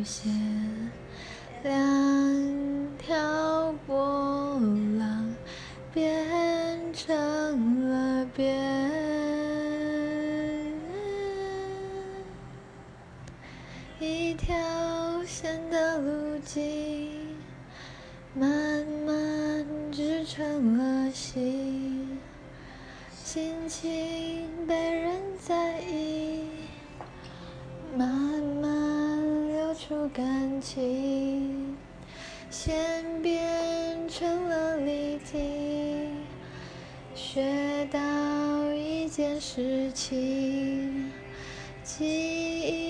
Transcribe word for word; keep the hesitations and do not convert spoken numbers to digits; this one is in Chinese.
線，兩條波浪變成了邊，一條線的路徑慢慢織成了心，心情被人在意，慢慢流出感情，線變成了立體，學到一件事情，記憶